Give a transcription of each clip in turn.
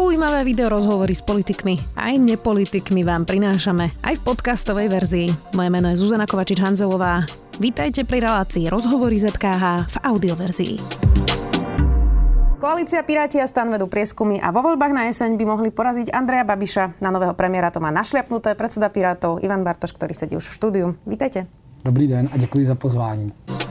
Zaujímavé video rozhovory s politikmi aj nepolitikmi vám prinášame aj v podcastovej verzii. Moje meno je Zuzana Kovačič-Hanzelová. Vítajte pri relácii Rozhovory ZKH v audioverzii. Koalícia Piráti a STAN vedú prieskumy a vo voľbách na jeseň by mohli poraziť Andreja Babiša. Na nového premiéra to má našliapnuté predseda Pirátov Ivan Bartoš, ktorý sedí už v štúdiu. Vítajte. Dobrý den a děkuji za pozvání.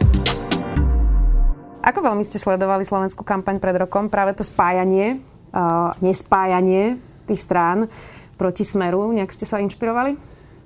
Ako veľmi ste sledovali slovenskú kampaň pred rokom? Práve to spájanie, nespájanie tých strán proti Smeru. Nejak ste sa inšpirovali?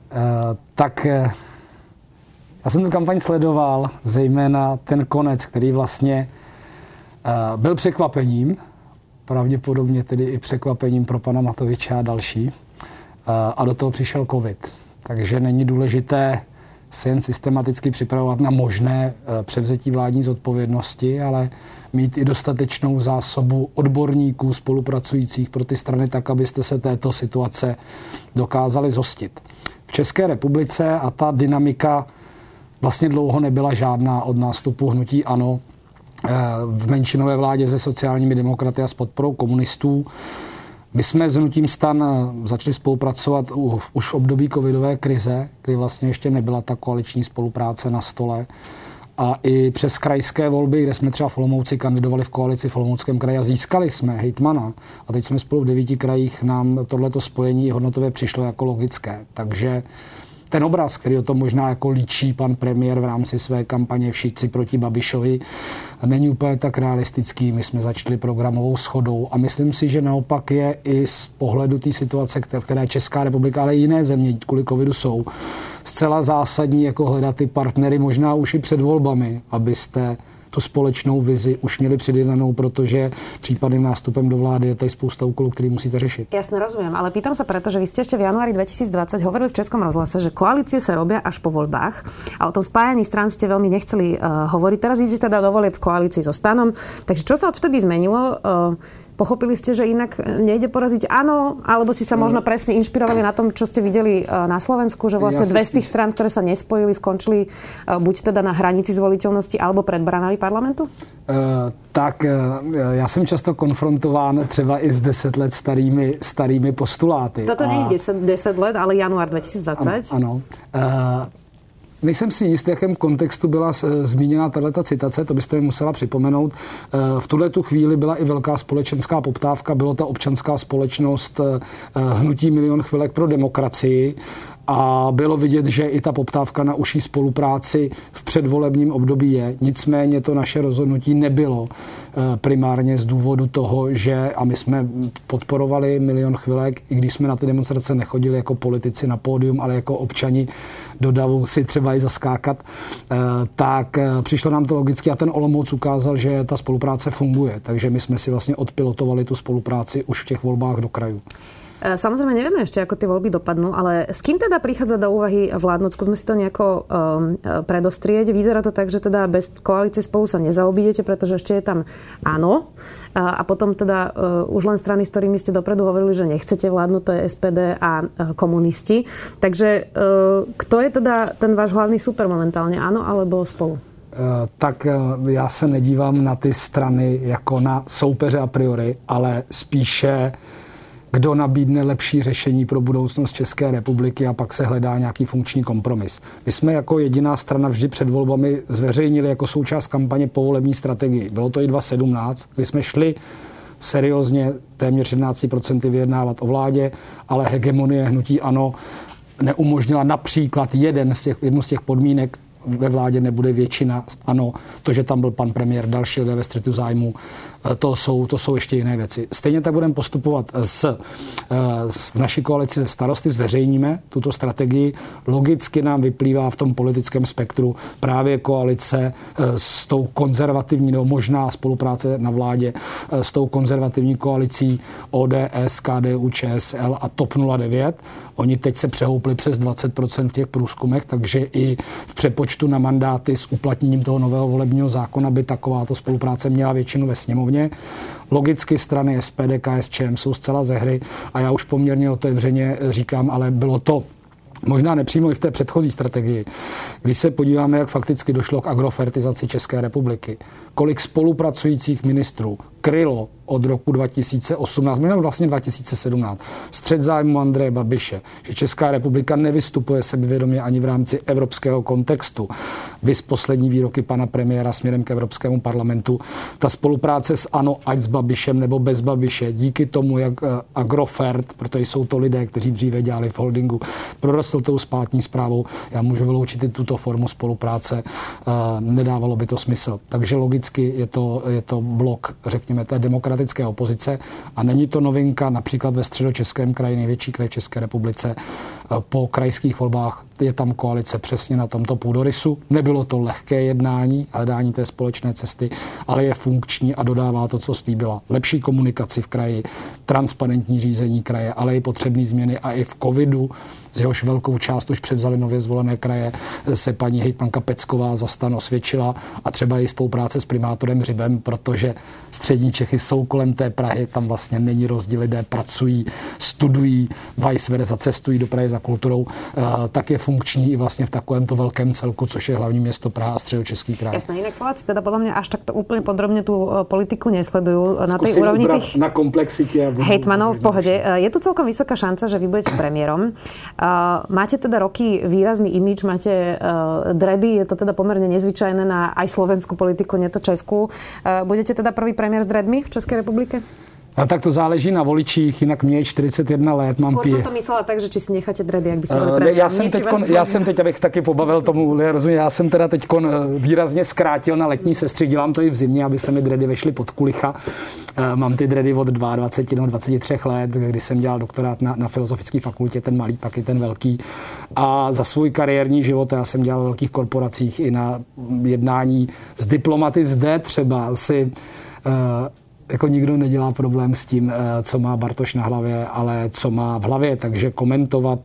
Já jsem tu kampaň sledoval, zejména ten konec, který vlastně byl překvapením, pravděpodobně tedy i překvapením pro pana Matoviče a další. A do toho přišel covid. Takže není důležité se jen systematicky připravovat na možné převzetí vládní zodpovědnosti, ale mít i dostatečnou zásobu odborníků, spolupracujících pro ty strany tak, abyste se této situace dokázali zhostit. V České republice a ta dynamika vlastně dlouho nebyla žádná od nástupu hnutí ANO v menšinové vládě se sociálními demokraty a s podporou komunistů. My jsme s hnutím STAN začali spolupracovat už v období covidové krize, kdy vlastně ještě nebyla ta koaliční spolupráce na stole. A i přes krajské volby, kde jsme třeba v Olomouci kandidovali v koalici v Olomouckém kraji a získali jsme hejtmana. A teď jsme spolu v 9 krajích, nám tohleto spojení hodnotové přišlo jako logické. Takže ten obraz, který o tom možná jako líčí pan premiér v rámci své kampaně Všichni proti Babišovi, není úplně tak realistický. My jsme začali programovou shodou a myslím si, že naopak je i z pohledu té situace, které Česká republika, ale i jiné země kvůli covidu jsou, zcela zásadní jako hledat ty partnery možná už i před volbami, abyste tu společnou vizi už měli předjednanou, protože případným nástupem do vlády je tady spousta úkolů, který musíte řešit. Jasne, rozumiem, ale pýtam sa preto, že vy ste ešte v januári 2020 hovorili v Českom rozhlase, že koalície sa robia až po voľbách a o tom spájaní strán ste veľmi nechceli hovoriť. Teraz idete teda do volieb v koalícii so STANom. Takže čo sa odvtedy zmenilo? Pochopili ste, že inak nejde poraziť áno, alebo si sa možno presne inšpirovali na tom, čo ste videli na Slovensku, že vlastne dve z tých strán, ktoré sa nespojili, skončili buď teda na hranici zvoliteľnosti, alebo pred branami parlamentu? Já jsem často konfrontován třeba i s 10 let starými postuláty. Toto nie je 10 let, ale január 2020. Ano. Nejsem si jist, v jakém kontextu byla zmíněna tato citace, to byste mi musela připomenout. V tuhletu chvíli byla i velká společenská poptávka, bylo ta občanská společnost hnutí Milion chvilek pro demokracii a bylo vidět, že i ta poptávka na užší spolupráci v předvolebním období je. Nicméně to naše rozhodnutí nebylo primárně z důvodu toho, že a my jsme podporovali Milion chvilek, i když jsme na ty demonstrace nechodili jako politici na pódium, ale jako občani do davu si třeba i zaskákat, tak přišlo nám to logicky a ten Olomouc ukázal, že ta spolupráce funguje. Takže my jsme si vlastně odpilotovali tu spolupráci už v těch volbách do krajů. Samozrejme, nevieme ešte, ako tie voľby dopadnú, ale s kým teda prichádza do úvahy vládnuť? Skúsme si to nejako predostrieť. Vyzerá to tak, že teda bez koalície Spolu sa nezaobídete, pretože ešte je tam áno. A potom teda už len strany, s ktorými ste dopredu hovorili, že nechcete vládnuť, to je SPD a komunisti. Takže kto je teda ten váš hlavný super momentálne? Áno alebo Spolu? Tak já se nedívám na ty strany jako na soupeře a priori, ale spíše kdo nabídne lepší řešení pro budoucnost České republiky a pak se hledá nějaký funkční kompromis. My jsme jako jediná strana vždy před volbami zveřejnili jako součást kampaně povolební strategii. Bylo to i 2017, kdy jsme šli seriózně téměř 11% vyjednávat o vládě, ale hegemonie hnutí ANO neumožnila například jednu z těch podmínek, ve vládě nebude většina, ano, to, že tam byl pan premiér, další lidé ve střetu zájmu, to jsou ještě jiné věci. Stejně tak budeme postupovat v naší koalici ze Starosty, zveřejníme tuto strategii. Logicky nám vyplývá v tom politickém spektru právě koalice s tou konzervativní, nebo možná spolupráce na vládě s tou konzervativní koalicí ODS, KDU, ČSL a TOP 09. Oni teď se přehoupli přes 20% v těch průzkumech, takže i v přepočtu na mandáty s uplatněním toho nového volebního zákona by takováto spolupráce měla většinu ve sněmovně. Logicky strany SPD, KSČM jsou zcela ze hry a já už poměrně otevřeně říkám, ale bylo to možná nepřímo i v té předchozí strategii, Když se podíváme, jak fakticky došlo k agrofertizaci České republiky, kolik spolupracujících ministrů krylo od roku 2018, nebo vlastně 2017, střet zájmu Andreje Babiše, že Česká republika nevystupuje sebevědomě ani v rámci evropského kontextu. Viz poslední výroky pana premiéra směrem k Evropskému parlamentu. Ta spolupráce s ANO, ať s Babišem nebo bez Babiše, díky tomu, jak Agrofert, protože jsou to lidé, kteří dříve dělali v holdingu, prorostl tou státní správou, já můžu vyloučit i tuto formu spolupráce, nedávalo by to smysl. Takže logicky je to blok, řekněme, té demokratické opozice a není to novinka například ve Středočeském kraji, největší kraj v České republice. Po krajských volbách je tam koalice přesně na tomto půdorysu. Nebylo to lehké jednání, hledání té společné cesty, ale je funkční a dodává to, co slíbila. Lepší komunikaci v kraji, transparentní řízení kraje, ale i potřebné změny a i v covidu, z jehož velkou část už převzali nově zvolené kraje, se paní hejtmanka Pecková za STAN osvědčila a třeba i spolupráce s primátorem Hřibem, protože střední Čechy jsou kolem té Prahy, tam vlastně není rozdíl, lidé pracují, studují, vice versa, cestují do Prahy za kulturou, tak je funkční i vlastně v takovémto velkém celku, což je hlavní město Praha a Středočeský kraj. Jasné, inak Slováci teda podľa mňa až takto úplne podrobne tú politiku nesledujú na tej úrovni tých na komplexite hejtmanov v pohode. Je tu celkom vysoká šanca, že vy budete premiérom. Máte teda roky výrazný imidž, máte dready, je to teda pomerne nezvyčajné na aj slovenskú politiku, nie to českú. Budete teda prvý premiér s dreadmi v Českej republike? A tak to záleží na voličích, jinak mě je 41 let, mám Skôr som to myslela tak, že či si necháte dready, jak byste boli premiér. Já jsem teď, abych taky pobavil tomu, rozumím, já jsem teda teď výrazně zkrátil na letní sestřih, dělám to i v zimě, aby se mi dready vešly pod kulicha. Mám ty dready od 22 nebo 23 let, kdy jsem dělal doktorát na Filozofické fakultě, ten malý, pak i ten velký. A za svůj kariérní život já jsem dělal v velkých korporacích i na jednání s diplomaty zde třeba si jako nikdo nedělá problém s tím, co má Bartoš na hlavě, ale co má v hlavě, takže komentovat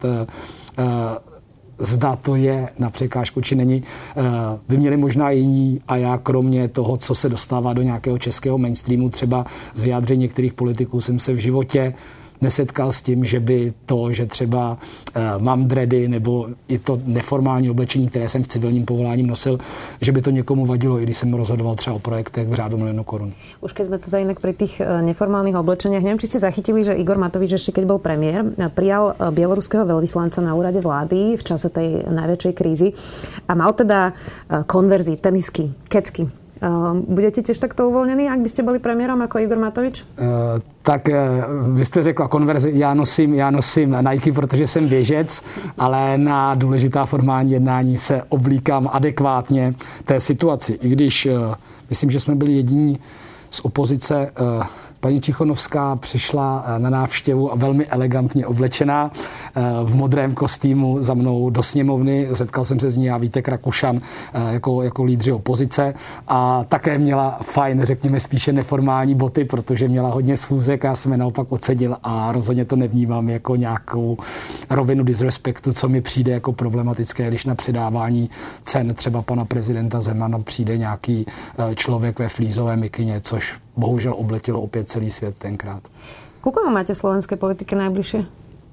zda to je na překážku, či není. By měli možná jiní a já kromě toho, co se dostává do nějakého českého mainstreamu, třeba z vyjádření některých politiků jsem se v životě nesetkal s tím, že by to, že třeba mám dready nebo i to neformální oblečení, které jsem v civilním povoláním nosil, že by to někomu vadilo, i když jsem rozhodoval třeba o projektech v řádu miliónov korun. Už keď sme teda inak pri tých neformálnych oblečeniach, neviem, či ste zachytili, že Igor Matovič ešte keď bol premiér, prijal bieloruského veľvyslanca na úrade vlády v čase tej najväčšej krízy a mal teda konverzy, tenisky, kecky. Budete tiež takto uvolněný, ak byste byli premiérom jako Igor Matovič? Tak vy jste řekla konverzi, já nosím Nike, protože jsem běžec, ale na důležitá formální jednání se oblíkám adekvátně té situaci. I když myslím, že jsme byli jediní z opozice. Paní Tichonovská přišla na návštěvu a velmi elegantně oblečená v modrém kostýmu za mnou do sněmovny. Setkal jsem se s ní a Vítek Rakušan jako lídři opozice a také měla fajn, řekněme spíše neformální boty, protože měla hodně schůzek a já jsem je naopak ocenil a rozhodně to nevnímám jako nějakou rovinu disrespektu, co mi přijde jako problematické, když na předávání cen třeba pana prezidenta Zemana přijde nějaký člověk ve flízové mikině, což bohužel obletilo opět celý svět tenkrát. Koho máte v slovenské politike najbližšie?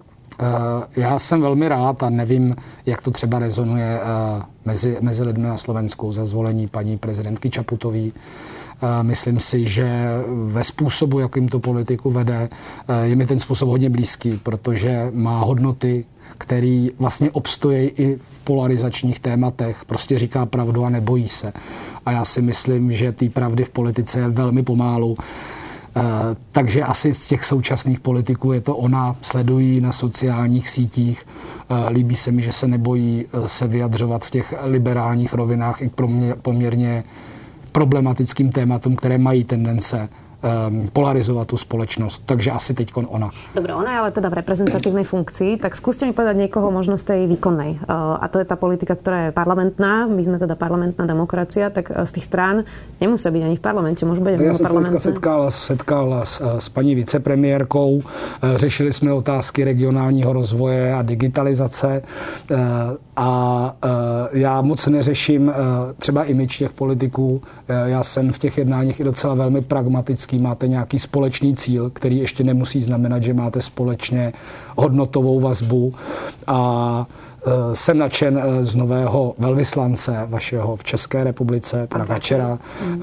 Já jsem velmi rád a nevím, jak to třeba rezonuje mezi lidmi na Slovensku za zvolení paní prezidentky Čaputový. Myslím si, že ve způsobu, jakým to politiku vede, je mi ten způsob hodně blízký, protože má hodnoty, který vlastně obstojí i v polarizačních tématech. Prostě říká pravdu a nebojí se. A já si myslím, že té pravdy v politice je velmi pomálu. Takže asi z těch současných politiků je to ona, sledují na sociálních sítích. Líbí se mi, že se nebojí se vyjadřovat v těch liberálních rovinách i k poměrně problematickým tématům, které mají tendence polarizovat tu spoločnosť. Takže asi teďkon ona. Dobre, ona je ale teda v reprezentatívnej funkcii, tak skúste mi povedať niekoho možno z tej výkonnej. A to je tá politika, ktorá je parlamentná. My sme teda parlamentná demokracia, tak z tých strán nemusia byť ani v parlamente, môžu byť mimo parlamentné. Ja som setkal s paní vicepremiérkou, řešili sme otázky regionálního rozvoje a digitalizace a já moc neřeším třeba image těch politiků. Já jsem v těch jednáních i docela velmi pragmatický ideologický, máte nějaký společný cíl, který ještě nemusí znamenat, že máte společně hodnotovou vazbu a jsem nadšen z nového velvyslance vašeho v České republice, pana Kačera.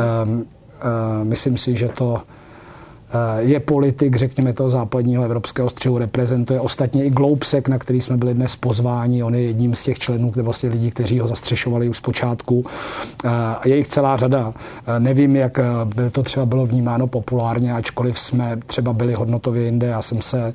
Myslím si, že to je politik, řekněme, toho západního evropského střihu, reprezentuje ostatně i Gloubsek, na který jsme byli dnes pozváni. On je jedním z těch členů, kde vlastně lidí, kteří ho zastřešovali už zpočátku. Je jich celá řada. Nevím, jak by to třeba bylo vnímáno populárně, ačkoliv jsme třeba byli hodnotově jinde. Já jsem se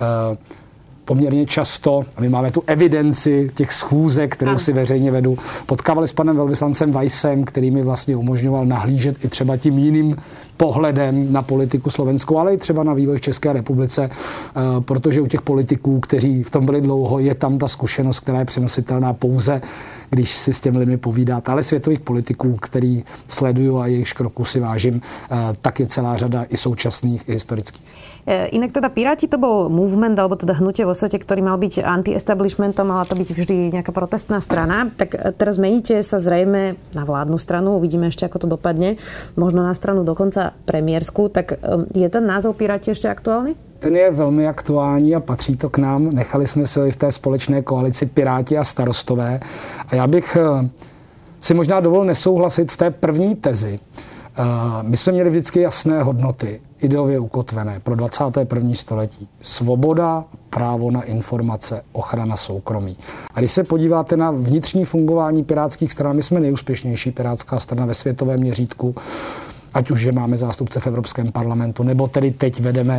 poměrně často, a my máme tu evidenci těch schůzek, kterou si veřejně vedu, potkávali s panem velvyslancem Weissem, který mi vlastně umožňoval nahlížet i třeba tím jiným pohledem na politiku slovenskou, ale i třeba na vývoj v České republice, protože u těch politiků, kteří v tom byli dlouho, je tam ta zkušenost, která je přenositelná pouze, když si s těmi lidmi povídáte. Ale světových politiků, který sleduju a jejich kroku si vážím, tak je celá řada i současných, i historických. Inak teda Piráti to bol movement, alebo teda hnutie vo svete, ktorý mal byť anti-establishmentom, mala to byť vždy nejaká protestná strana. Tak teraz meníte sa zrejme na vládnu stranu, uvidíme ešte, ako to dopadne, možno na stranu dokonca premiérsku. Tak je ten názov Piráti ešte aktuálny? Ten je velmi aktuální a patří to k nám. Nechali jsme si ho i v té společné koalici Piráti a Starostové. A já bych si možná dovolil nesouhlasit v té první tezi. My jsme měli vždycky jasné hodnoty, ideově ukotvené pro 21. století. Svoboda, právo na informace, ochrana soukromí. A když se podíváte na vnitřní fungování pirátských stran, my jsme nejúspěšnější pirátská strana ve světovém měřítku, ať už, že máme zástupce v Evropském parlamentu, nebo tedy teď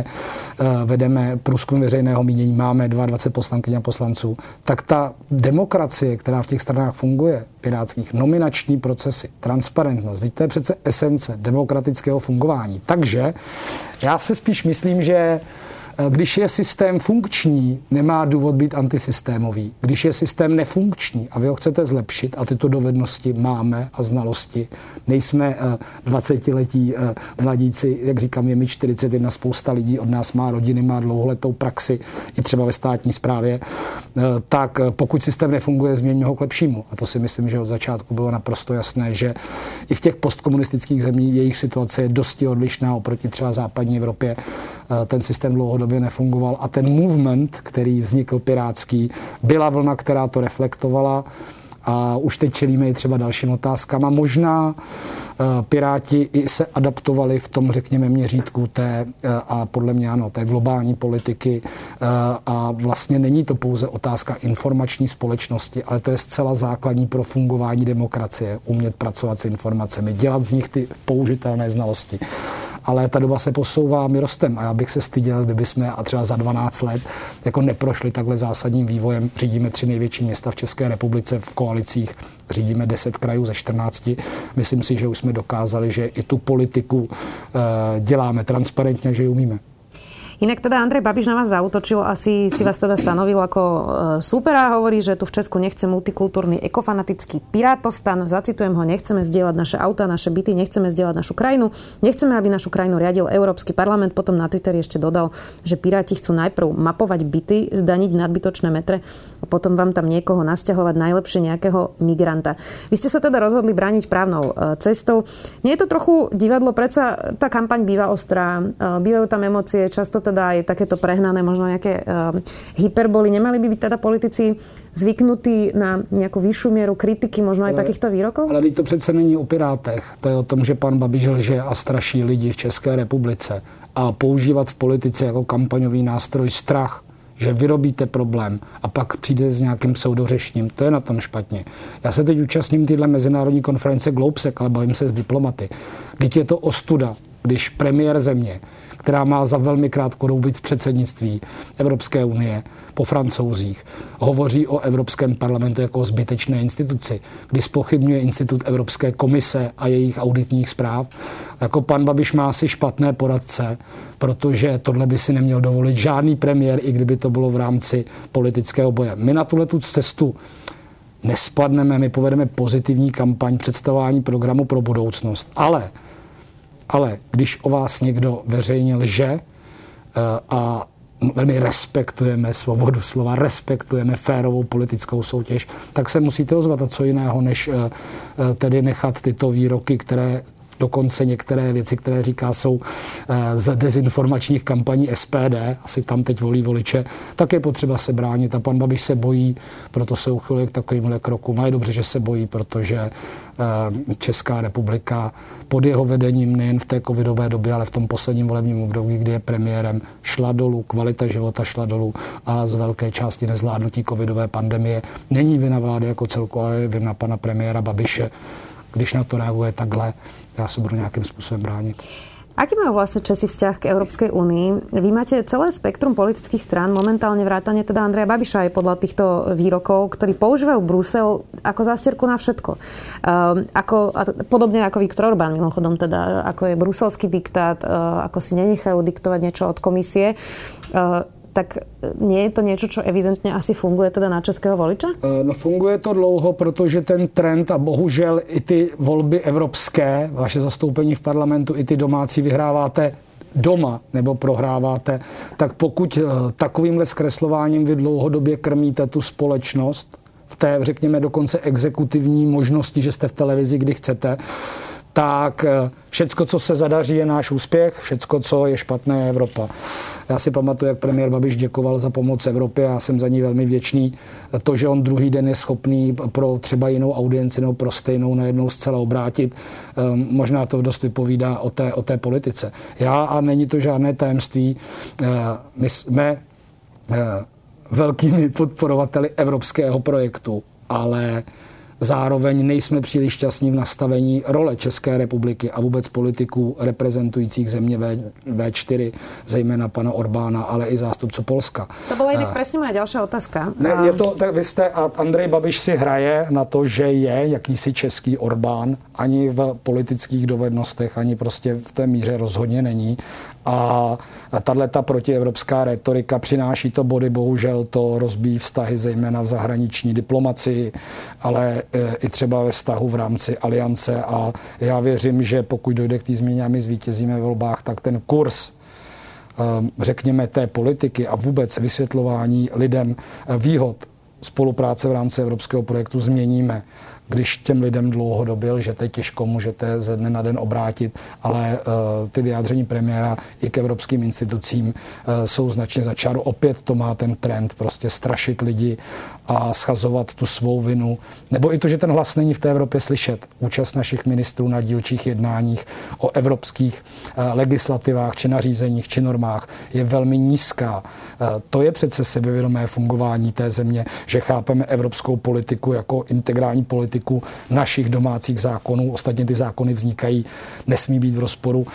vedeme průzkum veřejného mínění, máme 22 poslankyň a poslanců, tak ta demokracie, která v těch stranách funguje, pirátských, nominační procesy, transparentnost, to je přece esence demokratického fungování. Takže já se spíš myslím, že když je systém funkční, nemá důvod být antisystémový. Když je systém nefunkční a vy ho chcete zlepšit a tyto dovednosti máme a znalosti, nejsme 20letí mladíci, jak říkám, je mi 41, spousta lidí od nás má rodiny, má dlouholetou praxi i třeba ve státní správě, tak pokud systém nefunguje, změňme ho k lepšímu. A to si myslím, že od začátku bylo naprosto jasné, že i v těch postkomunistických zemích jejich situace je dosti odlišná oproti třeba západní Evropě. Ten systém dlouhodobě nefungoval a ten movement, který vznikl pirátský, byla vlna, která to reflektovala a už teď čelíme i třeba dalším otázkám a možná Piráti i se adaptovali v tom, řekněme, měřítku té a podle mě ano, té globální politiky a vlastně není to pouze otázka informační společnosti, ale to je zcela základní pro fungování demokracie, umět pracovat s informacemi, dělat z nich ty použitelné znalosti. Ale ta doba se posouvá, my rostem a já bych se styděl, kdyby jsme a třeba za 12 let jako neprošli takhle zásadním vývojem. Řídíme 3 největší města v České republice v koalicích, řídíme 10 krajů ze 14. Myslím si, že už jsme dokázali, že i tu politiku děláme transparentně, že ji umíme. Inak teda Andrej Babiš na vás zaútočil, asi si vás teda stanovil ako súpera, hovorí, že tu v Česku nechce multikultúrny ekofanatický pirátostan. Zacitujem ho, nechceme zdieľať naše auta, naše byty, nechceme zdieľať našu krajinu, nechceme, aby našu krajinu riadil Európsky parlament. Potom na Twitteri ešte dodal, že Piráti chcú najprv mapovať byty, zdaniť nadbytočné metre a potom vám tam niekoho nasťahovať, najlepšie nejakého migranta. Vy ste sa teda rozhodli brániť právnou cestou. Nie je to trochu divadlo? Predsa tá kampaň býva ostrá, bývajú tam emócie, často teda je takéto prehnané, možno nejaké hyperboly. Nemali by byť teda politici zvyknutí na nejakú vyššiu mieru kritiky, možno aj takýchto výrokov? Ale to přece není o Pirátech. To je o tom, že pan Babiš lže a straší lidi v České republice. A používat v politice jako kampaňový nástroj strach, že vyrobíte problém a pak přijde s nějakým pseudořešením. To je na tom špatně. Já se teď účastním téhle mezinárodní konference Gloubsek, ale bavím se s diplomaty. Vždyť je to ostuda, když premiér země, která má za velmi krátkou dobu být v předsednictví Evropské unie po Francouzích, hovoří o Evropském parlamentu jako o zbytečné instituci, kdy zpochybňuje institut Evropské komise a jejich auditních zpráv. Jako pan Babiš má asi špatné poradce, protože tohle by si neměl dovolit žádný premiér, i kdyby to bylo v rámci politického boje. My na tuhletu cestu nespadneme, my povedeme pozitivní kampaň představování programu pro budoucnost. Ale když o vás někdo veřejně lže a velmi respektujeme svobodu slova, respektujeme férovou politickou soutěž, tak se musíte ozvat. A co jiného, než tedy nechat tyto výroky, které Dokonce některé věci, které říká, jsou z dezinformačních kampaní SPD, asi tam teď volí voliče, tak je potřeba se bránit a pan Babiš se bojí, proto se uchyluje k takovýmhle krokům. A je dobře, že se bojí, protože Česká republika pod jeho vedením nejen v té covidové době, ale v tom posledním volebním období, kdy je premiérem, šla dolů, kvalita života šla dolů a z velké části nezvládnutí covidové pandemie není vina vlády jako celku, ale je vina pana premiéra Babiše. Když na to reaguje takhle, já se budu nějakým způsobem bránit. Aký majú vlastne Česi vzťah k Európskej únii? Vy máte celé spektrum politických strán, momentálne vrátane teda Andreja Babiša aj podľa týchto výrokov, ktorí používajú Brusel ako zástierku na všetko. Podobne ako Viktor Orbán, mimochodom teda, ako je bruselský diktát, ako si nenechajú diktovať niečo od komisie. Tak nie je to niečo, čo evidentně asi funguje teda na českého voliča? No funguje to dlouho, protože ten trend a bohužel i ty volby evropské, vaše zastoupení v parlamentu, i ty domácí vyhráváte doma nebo prohráváte, tak pokud takovýmhle zkreslováním vy dlouhodobě krmíte tu společnost v té, řekněme, dokonce exekutivní možnosti, že jste v televizi, kdy chcete, tak všecko, co se zadaří, je náš úspěch, všecko, co je špatné, je Evropa. Já si pamatuju, jak premiér Babiš děkoval za pomoc Evropě, já jsem za ní velmi vděčný. To, že on druhý den je schopný pro třeba jinou audienci nebo pro stejnou najednou zcela obrátit, možná to dost vypovídá o té politice. Já, a není to žádné tajemství, my jsme velkými podporovateli evropského projektu, ale zároveň nejsme příliš šťastní v nastavení role České republiky a vůbec politiků reprezentujících země V4, zejména pana Orbána, ale i zástupců Polska. To byla jinak přesně moja další otázka. Ne, je to, tak vy jste, a Andrej Babiš si hraje na to, že je jakýsi český Orbán, ani v politických dovednostech, ani prostě v té míře rozhodně není. A tato protievropská retorika přináší to body, bohužel to rozbíjí vztahy zejména v zahraniční diplomacii, ale i třeba ve vztahu v rámci aliance a já věřím, že pokud dojde k té změně a my zvítězíme ve volbách, tak ten kurz, řekněme, té politiky a vůbec vysvětlování lidem výhod spolupráce v rámci evropského projektu změníme. Když těm lidem dlouhodobě lžete, těžko můžete ze dne na den obrátit, ale ty vyjádření premiéra i k evropským institucím jsou značně za čáru. Opět to má ten trend prostě strašit lidi a schazovat tu svou vinu. Nebo i to, že ten hlas není v té Evropě slyšet. Účast našich ministrů na dílčích jednáních o evropských legislativách či nařízeních či normách je velmi nízká. To je přece sebevědomé fungování té země, že chápeme evropskou politiku jako integrální politiku našich domácích zákonů. Ostatně ty zákony vznikají, nesmí být v rozporu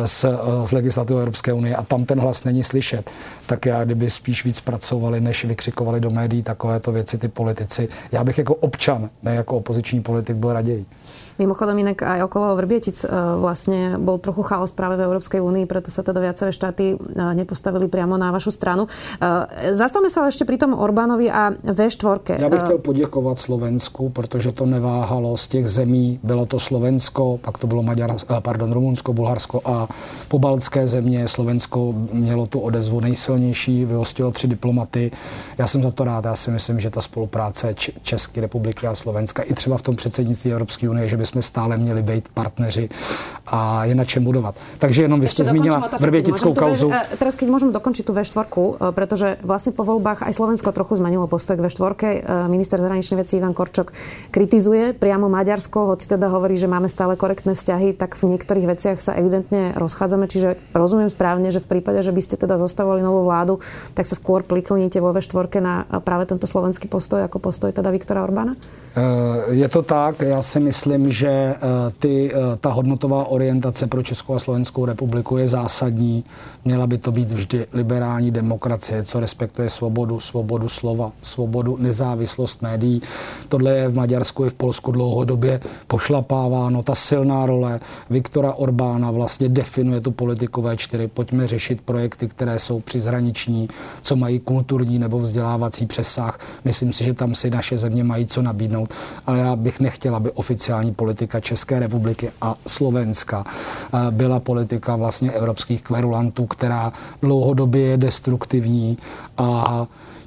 s legislativou Evropské unie a tam ten hlas není slyšet. Tak já, kdyby spíš víc pracovali, než vykřikovali do médií takovéto věci ty politici, já bych jako občan, ne jako opoziční politik, byl raději. Mimochodom inak aj okolo Vrbietic vlastne bol trochu chaos práve v Európskej únii, preto sa teda viaceré štáty nepostavili priamo na vašu stranu. Zastavme sa ale ešte pri tom Orbánovi a V4. Já bych chtěl poděkovat Slovensku, protože to neváhalo z těch zemí. Bylo to Slovensko, pak to bylo Rumunsko, Bulharsko a pobaltské země. Slovensko mělo tu odezvu nejsilnější, vyhostilo 3 diplomaty. Já jsem za to rád. Já si myslím, že ta spolupráce České republiky a Slovenska i třeba v tom předsednictví Evropské unie, že bychom stále měli být partneři a je na čem budovat. Takže jenom vy jste zmínila vrbětickou kauzu. Teraz keď môžem dokončiť tú V4, pretože vlastne po voľbách aj Slovensko trochu zmenilo postoj k V4. Minister zahraničných vecí Ivan Korčok kritizuje priamo Maďarsko, hoci teda hovorí, že máme stále korektné vzťahy, tak v niektorých veciach sa evidentne rozchádzame, čiže rozumiem správne, že v prípade, že by ste teda zostavovali novú vládu, tak sa skôr prikloníte vo V4 na práve tento slovenský postoj ako postoj teda Viktora Orbána? Je to tak, já si myslím, že ta hodnotová orientace pro Českou a Slovenskou republiku je zásadní. Měla by to být vždy liberální demokracie, co respektuje svobodu slova, svobodu, nezávislost médií. Tohle je v Maďarsku i v Polsku dlouhodobě pošlapáváno. Ta silná role Viktora Orbána vlastně definuje tu politiku V4. Pojďme řešit projekty, které jsou přeshraniční, co mají kulturní nebo vzdělávací přesah. Myslím si, že tam si naše země mají co nabídnout, ale já bych nechtěla, aby oficiální politika České republiky a Slovenska byla politika vlastně evropských kverulantů, která dlouhodobě je destruktivní a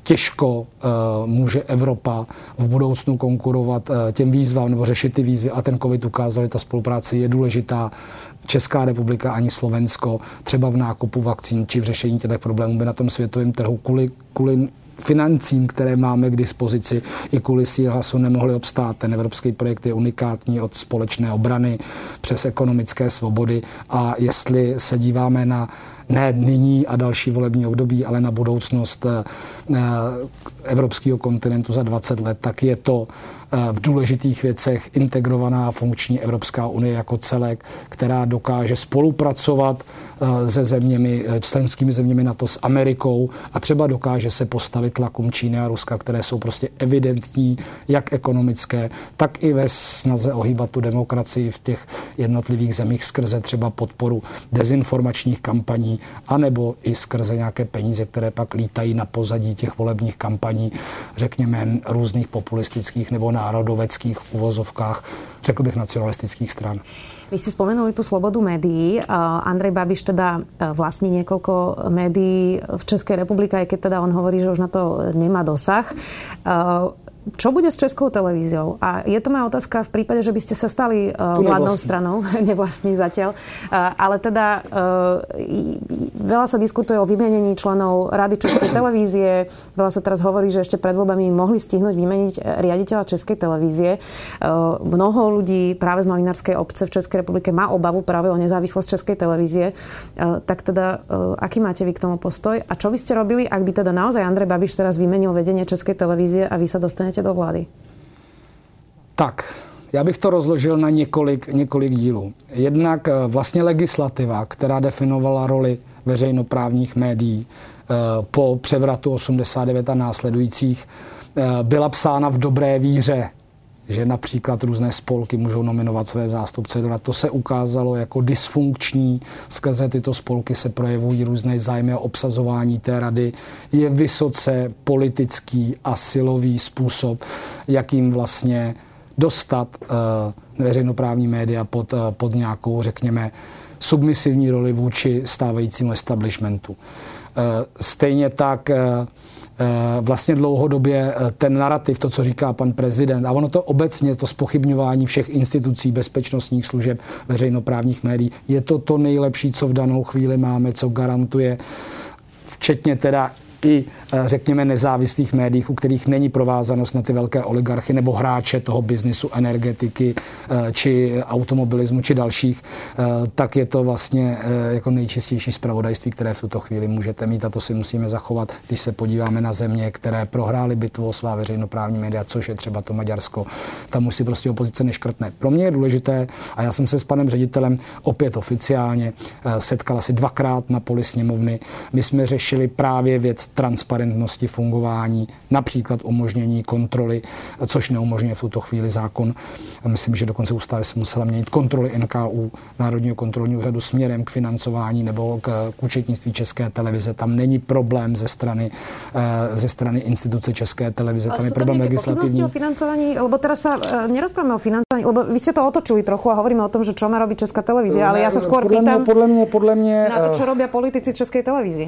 těžko může Evropa v budoucnu konkurovat těm výzvám nebo řešit ty výzvy a ten covid ukázal, že ta spolupráce je důležitá. Česká republika ani Slovensko třeba v nákupu vakcín či v řešení těch problémů by na tom světovém trhu kvůli financím, které máme k dispozici, i kvůli síle hlasu nemohli obstát. Ten evropský projekt je unikátní od společné obrany přes ekonomické svobody a jestli se díváme na ne nyní a další volební období, ale na budoucnost evropského kontinentu za 20 let, tak je to v důležitých věcech integrovaná funkční Evropská unie jako celek, která dokáže spolupracovat se zeměmi, členskými zeměmi NATO s Amerikou a třeba dokáže se postavit tlakům Číny a Ruska, které jsou prostě evidentní, jak ekonomické, tak i ve snaze ohýbat tu demokracii v těch jednotlivých zemích skrze třeba podporu dezinformačních kampaní, anebo i skrze nějaké peníze, které pak lítají na pozadí těch volebních kampaní, řekněme různých populistických nebo národoveckých uvozovkách, řekl bych nacionalistických stran. Vy ste spomenuli tú slobodu médií. Andrej Babiš teda vlastní niekoľko médií v Českej republike, aj keď teda on hovorí, že už na to nemá dosah. Čo bude s Českou televíziou? A je to moja otázka v prípade, že by ste sa stali vládnou stranou, nevlastní zatiaľ, ale teda veľa sa diskutuje o vymenení členov Rady Českej televízie, veľa sa teraz hovorí, že ešte pred voľbami mohli stihnúť vymeniť riaditeľa Českej televízie. Mnoho ľudí práve z novinárskej obce v Českej republike má obavu práve o nezávislosť Českej televízie. Tak teda, aký máte vy k tomu postoj? A čo by ste robili, ak by teda naozaj Andrej Babiš teraz vymenil vedenie Českej televízie a vy sa dostanete do vlády? Tak, já bych to rozložil na několik dílů. Jednak vlastně legislativa, která definovala roli veřejnoprávních médií po převratu 89 a následujících, byla psána v dobré víře, že například různé spolky můžou nominovat své zástupce. To se ukázalo jako dysfunkční. Skrze tyto spolky se projevují různé zájmy a obsazování té rady. Je vysoce politický a silový způsob, jakým vlastně dostat veřejnoprávní média pod nějakou, řekněme, submisivní roli vůči stávajícímu establishmentu. Stejně tak vlastně dlouhodobě ten narrativ, to, co říká pan prezident, a ono to obecně, to zpochybňování všech institucí, bezpečnostních služeb, veřejnoprávních médií, je to nejlepší, co v danou chvíli máme, co garantuje, včetně teda i, řekněme, nezávislých médiích, u kterých není provázanost na ty velké oligarchy nebo hráče toho biznisu, energetiky, či automobilismu, či dalších, tak je to vlastně jako nejčistější zpravodajství, které v tuto chvíli můžete mít a to si musíme zachovat, když se podíváme na země, které prohrály bitvu o svá veřejnoprávní média, což je třeba to Maďarsko. Tam už si prostě opozice neškrtne. Pro mě je důležité, a já jsem se s panem ředitelem opět oficiálně setkal asi 2krát na poli sněmovny. My jsme řešili právě věc transparentnosti fungování, například umožnění kontroly, což neumožňuje v tuto chvíli zákon. Myslím, že dokonce ústava se musela měnit kontroly NKÚ, Národního kontrolního úřadu, směrem k financování nebo k účetnictví České televize. Tam není problém ze strany instituce České televize. Tam je problém legislativní. O financovaní, lebo teraz sa nerozprávame o financovaní, lebo vy ste to otočili trochu a hovoríme o tom, že čo má robiť Česká televízia, ale ja sa skôr pýtam podle mě, na to, čo robia politici Českej televízie.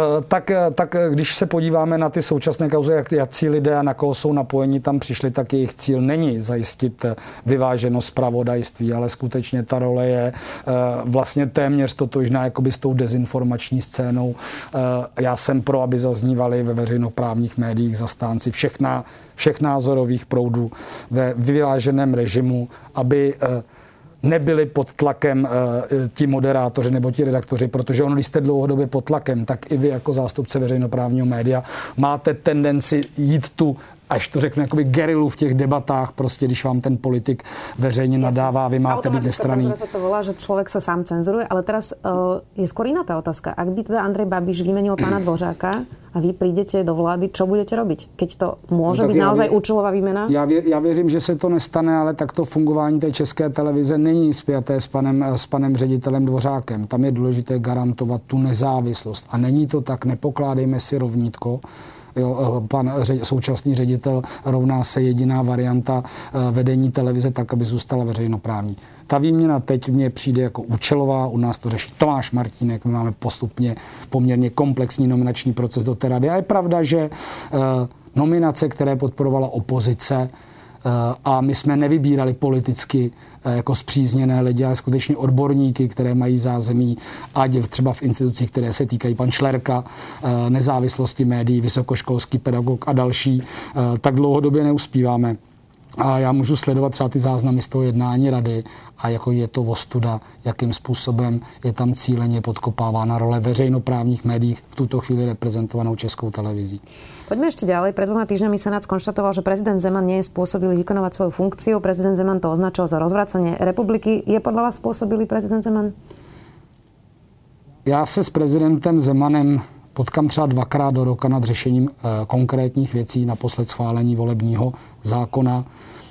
Tak když se podíváme na ty současné kauzy, jakcí lidé a na koho jsou napojeni tam přišli, tak jejich cíl není zajistit vyváženost zpravodajství, ale skutečně ta role je vlastně téměř totožná jakoby s tou dezinformační scénou. Já jsem pro, aby zaznívali ve veřejnoprávních médiích zastánci všech názorových proudů ve vyváženém režimu, aby nebyli pod tlakem ti moderátoři nebo ti redaktoři, protože ono, když jste dlouhodobě pod tlakem, tak i vy jako zástupce veřejnoprávního média máte tendenci jít tu, až to řeknu, jakoby gerilu v těch debatách, prostě když vám ten politik veřejně nadává, vy máte být nestranný. Automaticky sa to volá, že človek sa sám cenzuruje, ale teraz je skôr iná tá otázka. Ak by teda Andrej Babiš vymenil pána Dvořáka a vy prídete do vlády, čo budete robiť? Keď to môže byť naozaj účelová výmena? Já věřím, že se to nestane, ale takto fungování té České televize není spjaté s panem ředitelem Dvořákem. Tam je důležité garantovat tu nezávislost. A není to tak, nepokládejme si rovnítko. Jo, pan současný ředitel rovná se jediná varianta vedení televize tak, aby zůstala veřejnoprávní. Ta výměna teď mně přijde jako účelová, u nás to řeší Tomáš Martínek, my máme postupně poměrně komplexní nominační proces do té rady. A je pravda, že nominace, které podporovala opozice, a my jsme nevybírali politicky jako spřízněné lidi, ale skutečně odborníky, které mají zázemí, ať třeba v institucích, které se týkají pan Šlerka, nezávislosti médií, vysokoškolský pedagog a další, tak dlouhodobě neuspíváme. A já můžu sledovat třeba ty záznamy z toho jednání rady a jako je to ostuda, jakým způsobem je tam cíleně podkopávána role veřejnoprávních médií v tuto chvíli reprezentovanou Českou televizí. Poďme ešte ďalej. Pred 2 týždňami Senát skonštatoval, že prezident Zeman nie je spôsobilý vykonávať svoju funkciu. Prezident Zeman to označil za rozvracanie republiky. Je podľa vás spôsobilý prezident Zeman? Já se s prezidentem Zemanem potkám třeba 2krát do roka nad řešením konkrétních věcí, naposled schválení volebního zákona.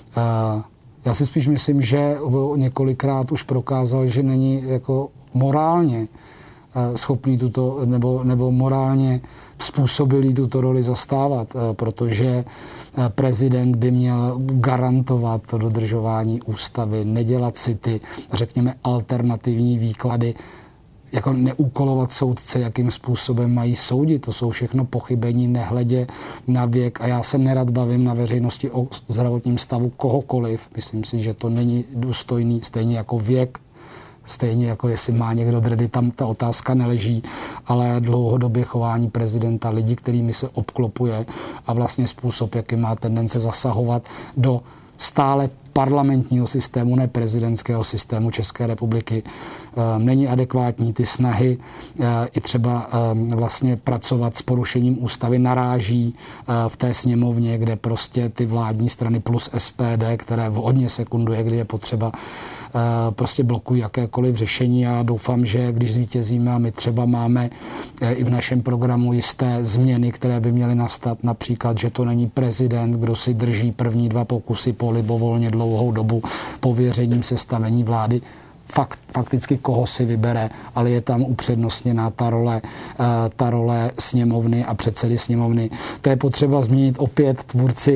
Já si spíš myslím, že několikrát už prokázal, že není jako morálně schopný tuto, nebo morálně způsobilý tuto roli zastávat, protože prezident by měl garantovat to dodržování ústavy, nedělat si ty, řekněme, alternativní výklady, jako neúkolovat soudce, jakým způsobem mají soudit. To jsou všechno pochybení, nehledě na věk. A já se nerad bavím na veřejnosti o zdravotním stavu kohokoliv. Myslím si, že to není důstojný, stejně jako věk, stejně jako jestli má někdo dredy, tam ta otázka neleží, ale dlouhodobě chování prezidenta, lidí, kterými se obklopuje a vlastně způsob, jaký má tendence zasahovat do stále parlamentního systému, ne prezidentského systému České republiky, není adekvátní. Ty snahy i třeba vlastně pracovat s porušením ústavy naráží v té sněmovně, kde prostě ty vládní strany plus SPD, které hodně sekunduje, kdy je potřeba, prostě blokují jakékoliv řešení. Já doufám, že když zvítězíme a my třeba máme i v našem programu jisté změny, které by měly nastat, například, že to není prezident, kdo si drží první 2 pokusy po libovolně dlouhou dobu pověřením sestavení vlády, fakticky koho si vybere, ale je tam upřednostněná ta role sněmovny a předsedy sněmovny. To je potřeba zmínit opět.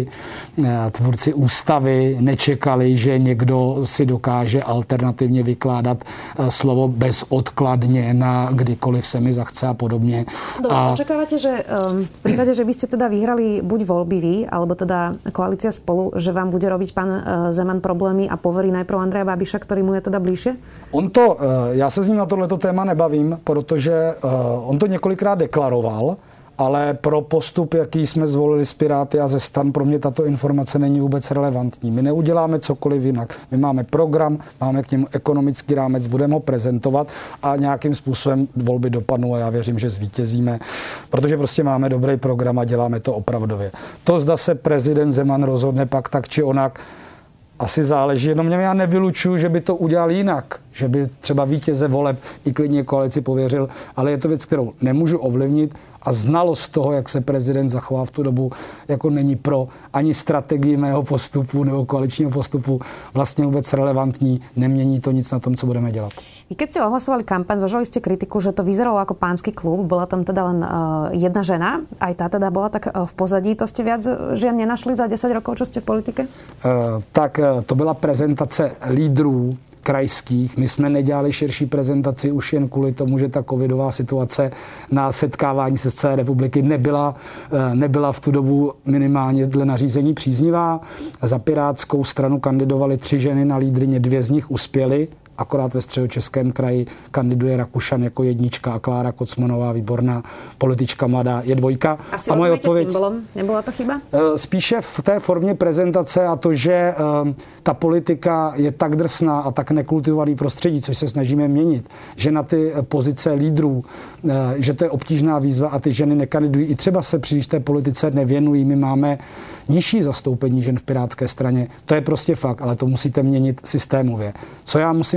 Tvůrci ústavy nečekali, že někdo si dokáže alternativně vykládat slovo bezodkladně na kdykoliv se mi zachce a podobně. Dobre, očakávate, že v prípade, že by ste teda vyhrali buď voľby vy, alebo teda koalícia Spolu, že vám bude robiť pán Zeman problémy a poverí najprv Andreja Babiša, ktorý mu je teda bližšie? Já se s ním na tohleto téma nebavím, protože on to několikrát deklaroval, ale pro postup, jaký jsme zvolili s Piráty a ze STAN, pro mě tato informace není vůbec relevantní. My neuděláme cokoliv jinak. My máme program, máme k němu ekonomický rámec, budeme ho prezentovat a nějakým způsobem volby dopadnou a já věřím, že zvítězíme, protože prostě máme dobrý program a děláme to opravdově. To, zda se prezident Zeman rozhodne pak tak či onak, asi záleží, jenom já nevylučuju, že by to udělal jinak, že by třeba vítěze voleb i klidně koalici pověřil, ale je to věc, kterou nemůžu ovlivnit a znalost toho, jak se prezident zachová v tu dobu, jako není pro ani strategii mého postupu nebo koaličního postupu vlastně vůbec relevantní, nemění to nic na tom, co budeme dělat. I keď ste ohlasovali kampaň, zvažovali ste kritiku, že to vyzeralo ako pánsky klub, bola tam teda len jedna žena, aj tá teda bola tak v pozadí, to ste viac žien nenašli za 10 rokov, čo ste v politike? To byla prezentace lídrů krajských. My jsme nedělali širší prezentaci už jen kvůli tomu, že ta covidová situace na setkávání se z celé republiky nebyla v tu dobu minimálně dle nařízení příznivá. Za Pirátskou stranu kandidovali 3 ženy na lídryně, 2 z nich uspěly. Akorát ve Středočeském kraji kandiduje Rakušan jako 1 a Klára Kocmanová, výborná politička mladá, je 2. Asi moje odpověď symbolom, nebyla to chyba? Spíše v té formě prezentace a to, že ta politika je tak drsná a tak nekultivovaný prostředí, což se snažíme měnit, že na ty pozice lídrů, že to je obtížná výzva a ty ženy nekandidují, i třeba se příliš té politice nevěnují. My máme nižší zastoupení žen v Pirátské straně. To je prostě fakt, ale to musíte měnit systémově. Co já musím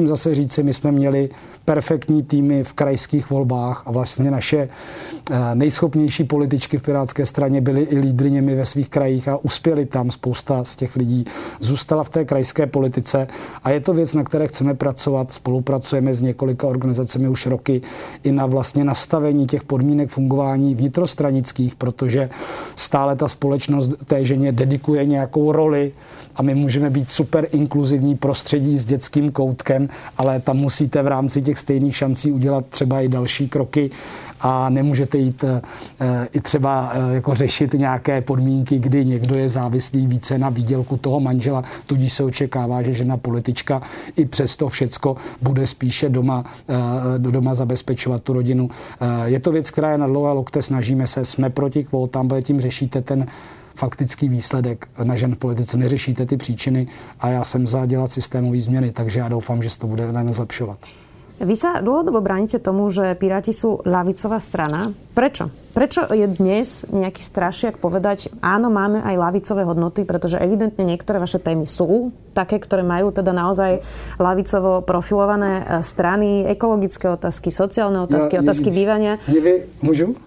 zase říci, my jsme měli perfektní týmy v krajských volbách a vlastně naše nejschopnější političky v Pirátské straně byly i lídryněmi ve svých krajích a uspěli tam. Spousta z těch lidí zůstala v té krajské politice a je to věc, na které chceme pracovat. Spolupracujeme s několika organizacemi už roky i na vlastně nastavení těch podmínek fungování vnitrostranických, protože stále ta společnost té ženě dedikuje nějakou roli a my můžeme být super inkluzivní prostředí s dětským koutkem, ale tam musíte v rámci těch stejných šancí udělat třeba i další kroky a nemůžete jít i třeba jako řešit nějaké podmínky, kdy někdo je závislý více na výdělku toho manžela, tudíž se očekává, že žena politička i přesto všecko bude spíše doma zabezpečovat tu rodinu. Je to věc, která je na dlouhé lokte, snažíme se, jsme proti kvótám, protože tím řešíte ten faktický výsledek na žen v politice, neřešíte ty příčiny a já jsem za dělat systémové změny, takže já doufám, že se to bude len zlepšovat. Vy sa dlhodobo bránite tomu, že Piráti sú ľavicová strana. Prečo? Prečo je dnes nejaký strašiak povedať, áno, máme aj ľavicové hodnoty, pretože evidentne niektoré vaše témy sú také, ktoré majú teda naozaj ľavicovo profilované strany, ekologické otázky, sociálne otázky, otázky bývania. Môžu?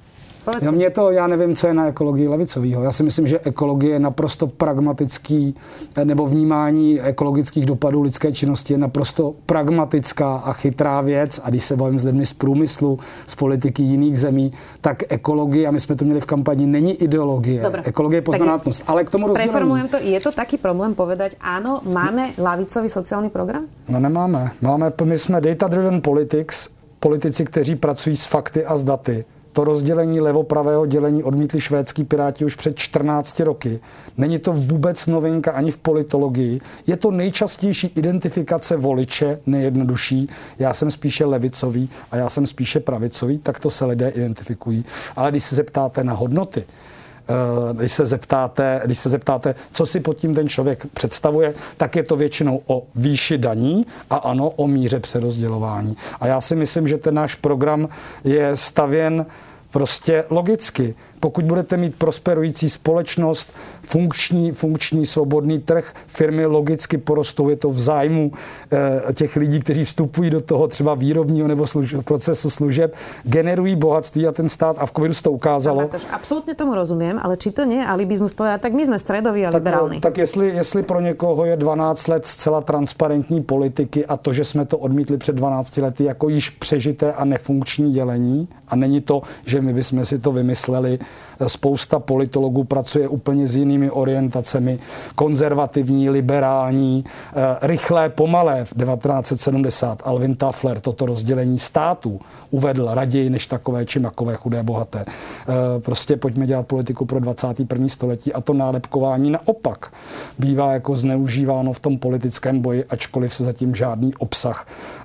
Já nevím, co je na ekologii levicovýho. Já si myslím, že ekologie je naprosto pragmatický, nebo vnímání ekologických dopadů lidské činnosti je naprosto pragmatická a chytrá věc. A když se bavím s lidmi z průmyslu, z politiky jiných zemí, tak ekologie, a my jsme to měli v kampani, není ideologie. Dobre. Ekologie je poznatnost. Ale k tomu rozdělení. Preformujem to. Je to taký problém povedať, áno, máme ľavicový sociální program? No nemáme. My jsme data-driven politici, kteří pracují s fakty a s daty. To rozdělení levopravého dělení odmítli švédský Piráti už před 14 roky. Není to vůbec novinka ani v politologii. Je to nejčastější identifikace voliče, nejjednodušší. Já jsem spíše levicový a já jsem spíše pravicový, tak to se lidé identifikují. Ale když se zeptáte na hodnoty, když se zeptáte, co si pod tím ten člověk představuje, tak je to většinou o výši daní a ano, o míře přerozdělování. A já si myslím, že ten náš program je stavěn prostě logicky. Pokud budete mít prosperující společnost, funkční svobodný trh, firmy logicky porostou, je to v zájmu těch lidí, kteří vstupují do toho třeba výrobního nebo procesu služeb, generují bohatství a ten stát, a v covidu se to ukázalo. Absolutně tomu rozumím, ale či to nie je alibizmus povedať, tak my jsme středoví a liberální. Tak jestli pro někoho je 12 let zcela transparentní politiky a to, že jsme to odmítli před 12 lety jako již přežité a nefunkční dělení, a není to, že my bychom si to vymysleli, spousta politologů pracuje úplně s jinými orientacemi, konzervativní, liberální, rychlé, pomalé. V 1970 Alvin Toffler toto rozdělení států uvedl raději než takové či makové, chudé, bohaté. Prostě pojďme dělat politiku pro 21. století a to nálepkování naopak bývá jako zneužíváno v tom politickém boji, ačkoliv se zatím žádný obsah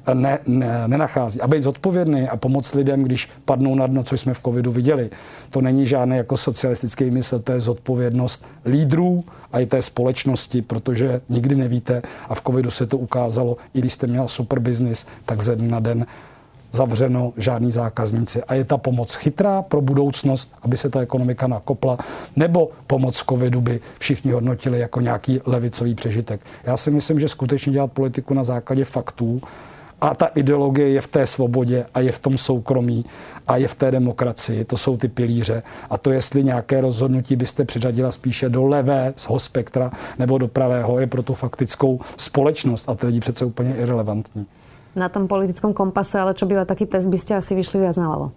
nenachází. A být zodpovědný a pomoct lidem, když padnou na dno, což jsme v covidu viděli, to není žádný jako socialistický mysl, to je zodpovědnost lídrů a i té společnosti, protože nikdy nevíte a v covidu se to ukázalo, i když jste měl super biznis, tak ze dne na den zavřeno, žádní zákazníci. A je ta pomoc chytrá pro budoucnost, aby se ta ekonomika nakopla, nebo pomoc v covidu by všichni hodnotili jako nějaký levicový přežitek. Já si myslím, že skutečně dělat politiku na základě faktů a ta ideologie je v té svobodě a je v tom soukromí a je v té demokracii. To jsou ty pilíře. A to, jestli nějaké rozhodnutí byste přiřadila spíše do levého spektra nebo do pravého, je pro tu faktickou společnost a ty lidi přece úplně irelevantní. Na tom politickom kompase, ale čo býva taký test, by ste asi vyšli viac naľavo?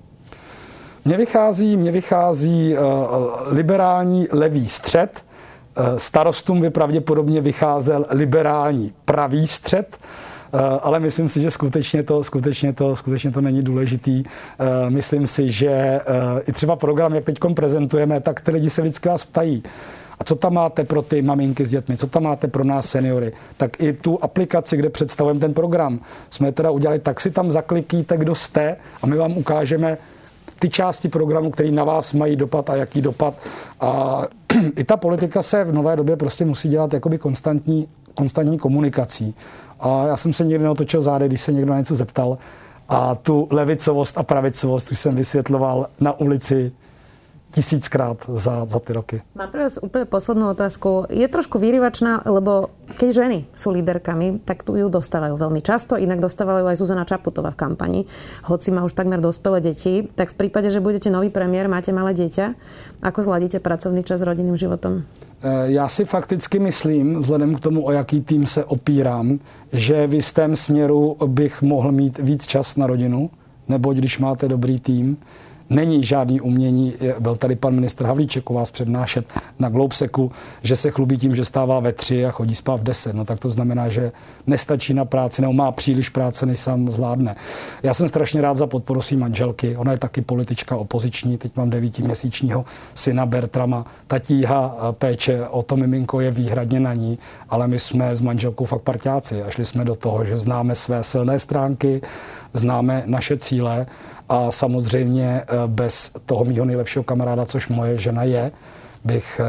Mně vychází liberální levý střed. Starostům by pravděpodobně vycházel liberální pravý střed. Ale myslím si, že skutečně to není důležitý. Myslím si, že i třeba program, jak teď prezentujeme, tak ty lidi se vždycky vás ptají. A co tam máte pro ty maminky s dětmi? Co tam máte pro nás seniory? Tak i tu aplikaci, kde představujeme ten program, jsme teda udělali, tak si tam zaklikíte, kdo jste a my vám ukážeme ty části programu, které na vás mají dopad a jaký dopad. A i ta politika se v nové době prostě musí dělat jakoby konstantní komunikací. A já jsem se nikdy neotočil zády, když se někdo na něco zeptal. A tu levicovost a pravicovost už jsem vysvětloval na ulici 1000krát za ty roky. Mám pre vás úplne poslednú otázku. Je trošku vyrývačná, lebo keď ženy sú líderkami, tak tu ju dostávajú veľmi často, inak dostávajú aj Zuzana Čaputová v kampani, hoci má už takmer dospelé deti. Tak v prípade, že budete nový premiér, máte malé dieťa, ako zladíte pracovný čas s rodinným životom? Já si fakticky myslím, vzhledem k tomu, o jaký tým se opírám, že v jistém směru bych mohl mít víc čas na rodinu, neboť když máte dobrý tým, není žádný umění, byl tady pan ministr Havlíček u vás přednášet na Globeseku, že se chlubí tím, že stává ve 3 a chodí spát v 10. No tak to znamená, že nestačí na práci, nebo má příliš práce, než sám zvládne. Já jsem strašně rád za podporu svý manželky. Ona je taky politička opoziční, teď mám 9měsíčního syna Bertrama. Ta tíha péče o to miminko je výhradně na ní, ale my jsme s manželkou fakt parťáci a šli jsme do toho, že známe své silné stránky, známe naše cíle a samozřejmě bez toho mýho nejlepšího kamaráda, což moje žena je, bych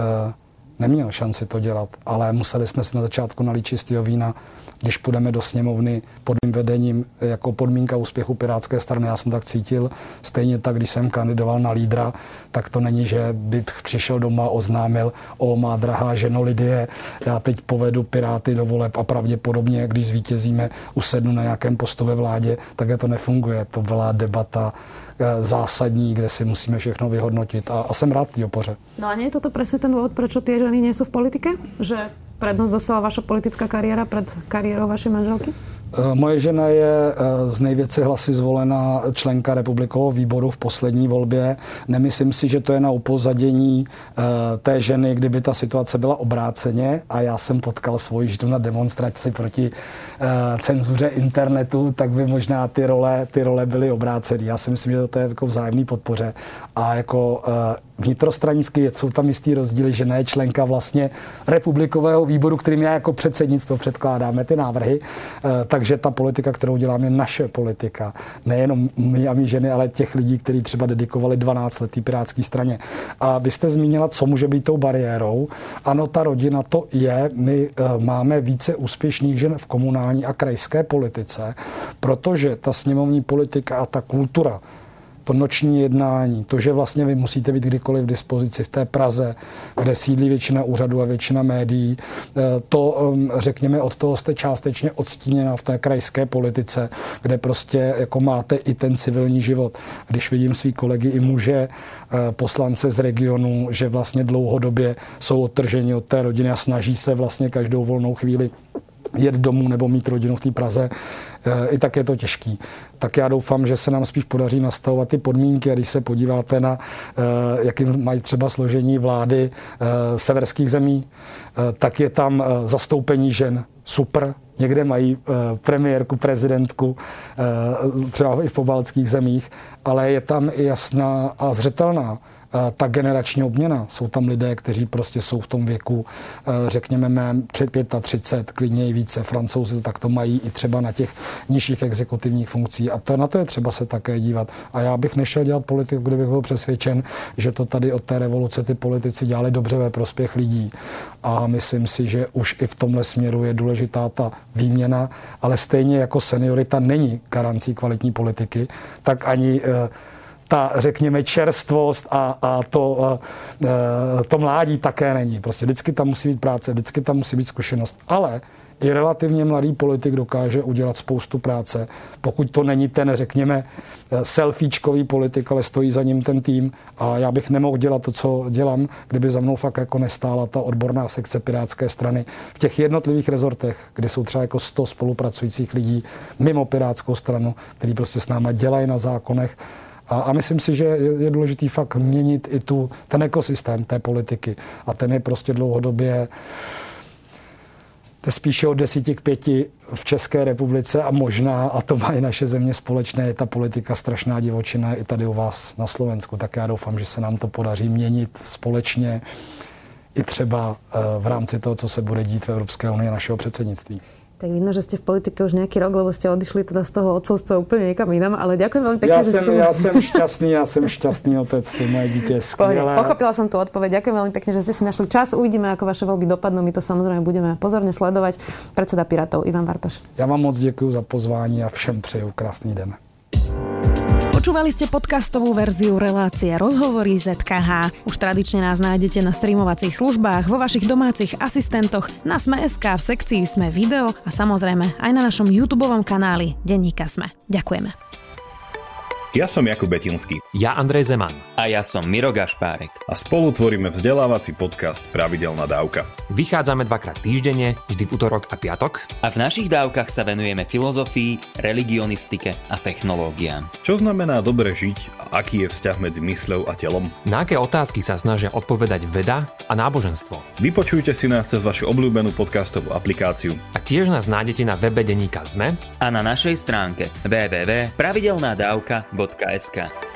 neměl šanci to dělat. Ale museli jsme si na začátku nalít čistého vína, když půjdeme do sněmovny pod mým vedením jako podmínka úspěchu Pirátské strany. Já jsem tak cítil. Stejně tak, když jsem kandidoval na lídra, tak to není, že bych přišel doma a oznámil: o, má drahá ženo Lidie, já teď povedu Piráty do voleb a pravděpodobně, když zvítězíme, usednu na nějakém postu ve vládě, tak to nefunguje. To byla debata zásadní, kde si musíme všechno vyhodnotit a jsem rád v té opoře. No a nie je toto presne ten dôvod, prečo tie ženy nie sú v politike? Že prednosť dostala vaša politická kariéra pred kariérou vašej manželky? Moje žena je z největší hlasy zvolená členka republikového výboru v poslední volbě. Nemyslím si, že to je na upozadění té ženy, kdyby ta situace byla obráceně a já jsem potkal svoji ženu na demonstraci proti cenzuře internetu, tak by možná ty role byly obrácené. Já si myslím, že to je jako vzájemný podpoře a jako vnitrostranicky jsou tam jistý rozdíly, že ne členka vlastně republikového výboru, kterým já jako předsednictvo předkládáme ty návrhy, takže ta politika, kterou dělám, je naše politika. Nejenom my a my ženy, ale těch lidí, kteří třeba dedikovali 12 let pirátské straně. A vy jste zmínila, co může být tou bariérou. Ano, ta rodina to je. My máme více úspěšných žen v komunální a krajské politice, protože ta sněmovní politika a ta kultura, to noční jednání, to, že vlastně vy musíte být kdykoliv v dispozici v té Praze, kde sídlí většina úřadů a většina médií, to, řekněme, od toho jste částečně odstíněná v té krajské politice, kde prostě jako máte i ten civilní život. Když vidím svý kolegy i muže, poslance z regionu, že vlastně dlouhodobě jsou odtrženi od té rodiny a snaží se vlastně každou volnou chvíli jet domů nebo mít rodinu v té Praze, i tak je to těžký. Tak já doufám, že se nám spíš podaří nastavovat ty podmínky a když se podíváte na, jaký mají třeba složení vlády severských zemí, tak je tam zastoupení žen super. Někde mají premiérku, prezidentku, třeba i v pobaltských zemích, ale je tam i jasná a zřetelná ta generační obměna. Jsou tam lidé, kteří prostě jsou v tom věku, řekněme, mém před 35, klidně i více. Francouzi to takto mají i třeba na těch nižších exekutivních funkcích. A to, na to je třeba se také dívat. A já bych nešel dělat politiku, kdybych byl přesvědčen, že to tady od té revoluce ty politici dělali dobře ve prospěch lidí. A myslím si, že už i v tomhle směru je důležitá ta výměna, ale stejně jako seniorita není garancí kvalitní politiky, tak ani ta, řekněme, čerstvost a to mládí také není. Prostě vždycky tam musí být práce, vždycky tam musí být zkušenost. Ale i relativně mladý politik dokáže udělat spoustu práce, pokud to není ten, řekněme, selfiečkový politik, ale stojí za ním ten tým. A já bych nemohl dělat to, co dělám, kdyby za mnou fakt jako nestála ta odborná sekce Pirátské strany v těch jednotlivých rezortech, kde jsou třeba jako 100 spolupracujících lidí mimo Pirátskou stranu, kteří prostě s náma dělají na zákonech. A myslím si, že je důležitý fakt měnit i ten ekosystém té politiky. A ten je prostě dlouhodobě spíše od 10 k 5 v České republice a možná, a to má i naše země společné, je ta politika strašná divočina i tady u vás na Slovensku. Tak já doufám, že se nám to podaří měnit společně i třeba v rámci toho, co se bude dít v Evropské unii našeho předsednictví. Tak vidno, že ste v politike už nejaký rok, lebo ste odišli teda z toho otcovstva úplne niekam inam, ale ďakujem veľmi pekne, že ste tu... Ja som šťastný otec, to moje dieťa je skvelé. Pochopila som tú odpoveď. Ďakujem veľmi pekne, že ste si našli čas. Uvidíme, ako vaše voľby dopadnú. My to samozrejme budeme pozorne sledovať. Predseda Pirátov Ivan Bartoš. Ja vám moc děkuji za pozvání a všem přeju krásný den. Počúvali ste podcastovú verziu relácie Rozhovory ZKH. Už tradične nás nájdete na streamovacích službách, vo vašich domácich asistentoch, na Sme.sk, v sekcii Sme video a samozrejme aj na našom YouTubeovom kanáli Denníka Sme. Ďakujeme. Ja som Jakub Betinský. Ja Andrej Zeman. A ja som Miro Gašpárek. A spolu tvoríme vzdelávací podcast Pravidelná dávka. Vychádzame dvakrát týždenne, vždy v utorok a piatok. A v našich dávkach sa venujeme filozofii, religionistike a technológiám. Čo znamená dobre žiť a aký je vzťah medzi mysľou a telom? Na aké otázky sa snažia odpovedať veda a náboženstvo? Vypočujte si nás cez vašu obľúbenú podcastovú aplikáciu. A tiež nás nájdete na webe Denníka Sme a na našej stránke www.pravidelnadavka.sk.